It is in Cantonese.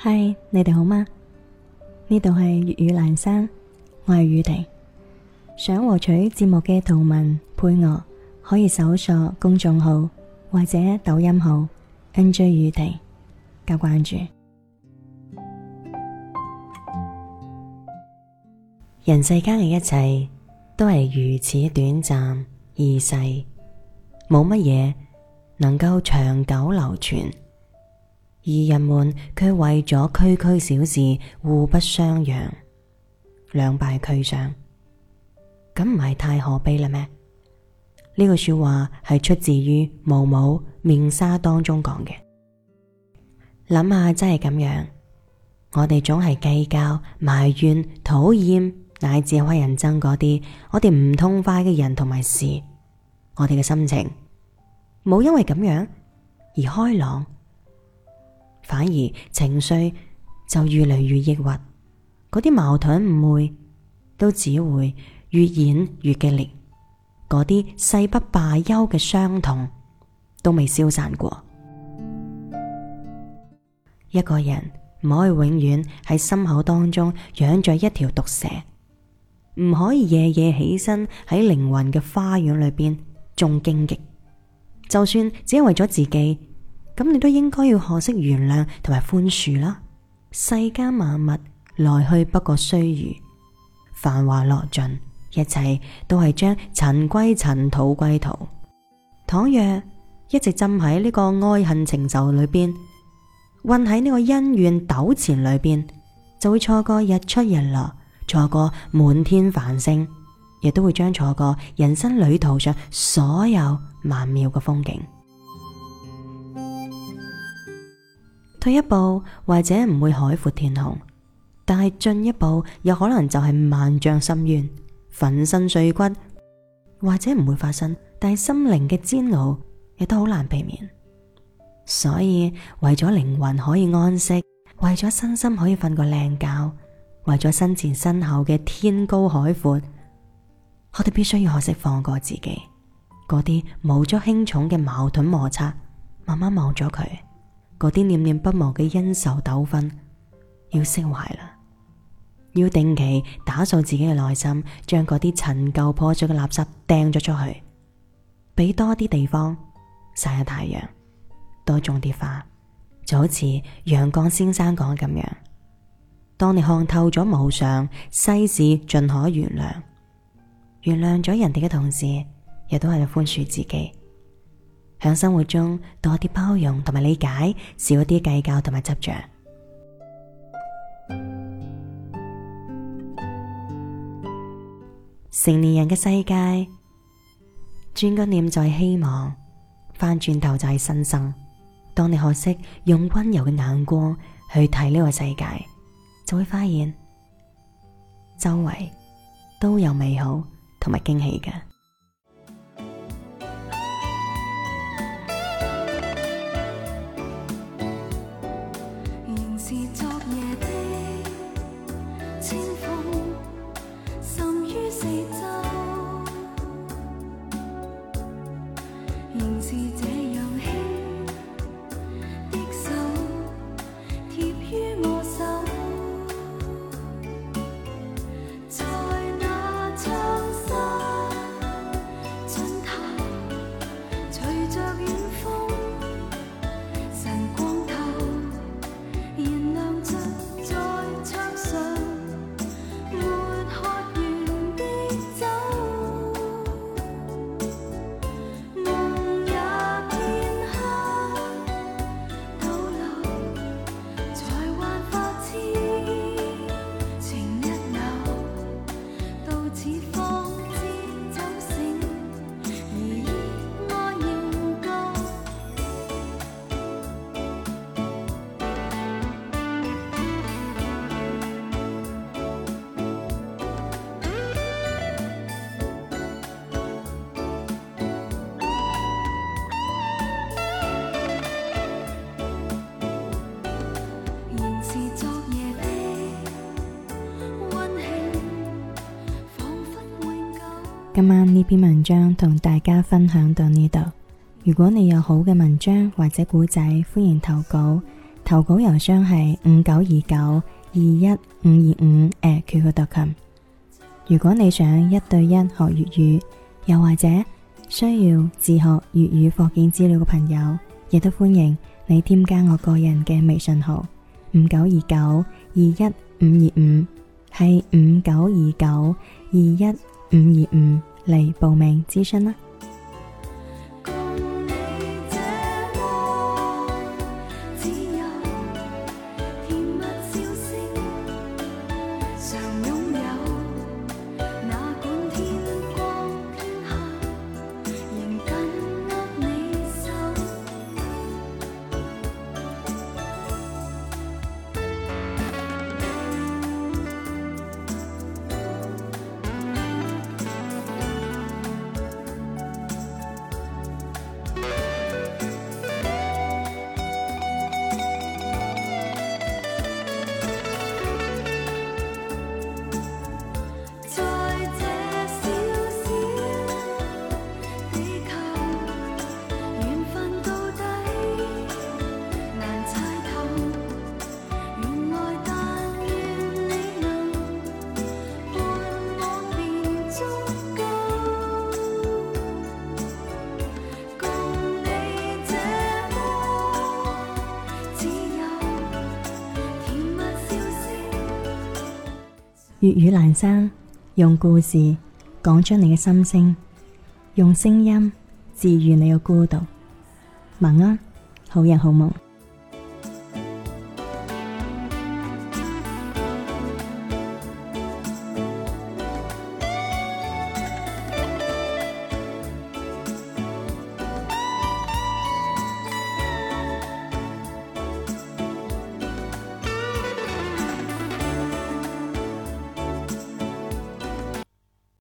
嗨，你哋好嗎？呢度係粵語闌珊，我係宇婷。想獲取節目嘅圖文配樂，可以搜索公眾號或者抖音號 NJ 宇婷加關注。人世間嘅一切都係如此短暫易逝，冇乜嘢能夠長久流傳。而人們卻為咗區區小事互不相讓，兩敗俱傷，咁唔係太可悲啦咩？呢句說話係出自於毛姆面紗當中講嘅。諗下真係咁樣，我哋總係計較、埋怨、討厭，乃至係人憎嗰啲我哋唔痛快嘅人同埋事，我哋嘅心情冇因為咁樣而開朗，反而情緒就越嚟越抑鬱，嗰啲矛盾誤會都只會越演越激烈，嗰啲誓不罷休嘅傷痛都未消散過。一個人唔可以永遠喺心口當中養着一條毒蛇，唔可以夜夜起身喺靈魂嘅花園裏邊種荊棘，就算只係為咗自己，咁你都應該要學識原諒同埋寬恕啦。世間萬物來去不過須臾，繁華落盡，一切都係將塵歸塵，土歸土。倘若一直浸喺呢個愛恨情仇裏邊，混喺呢個恩怨糾纏裏邊，就會錯過日出日落，錯過滿天繁星，亦都會將錯過人生旅途上所有曼妙嘅風景。退一步或者唔會海闊天空，但係進一步有可能就係萬丈深淵，粉身碎骨，或者唔會發生，但係心靈嘅煎熬亦都好難避免。所以為咗靈魂可以安息，為咗身心可以瞓個靚覺，為咗身前身後嘅天高海闊，我哋必須要學識放過自己，嗰啲無足輕重嘅矛盾摩擦，慢慢忘咗佢。嗰啲念念不忘嘅恩仇糾紛要釋懷啦，要定期打掃自己嘅內心，將嗰啲陳舊破碎嘅垃圾掟咗出去，俾多啲地方曬下太陽，多種啲花，就好似楊絳先生講咁樣，當你看透咗無常，世事盡可原諒，原諒咗人哋嘅同時，亦都係寬恕自己。喺生活中多啲包容同埋理解，少啲計較同埋執着。成年人嘅世界，轉個念就係希望，翻轉頭就係新生。當你學識用溫柔嘅眼光去睇呢個世界，就會發現周圍都有美好同埋驚喜嘅。今晚呢篇文章同大家分享到呢度。如果你有好嘅文章或者故仔，歡迎投稿。 投稿郵箱係5929215225@qq.com。如果你想1對1學粵語，又或者需要自學粵語課件資料嘅朋友，亦都歡迎你添加我個人嘅微信號5929212525，係5929212525嚟報名諮詢啦。粵語闌珊，用故事講出你嘅心聲，用聲音治愈你嘅孤獨。晚安，好人好夢。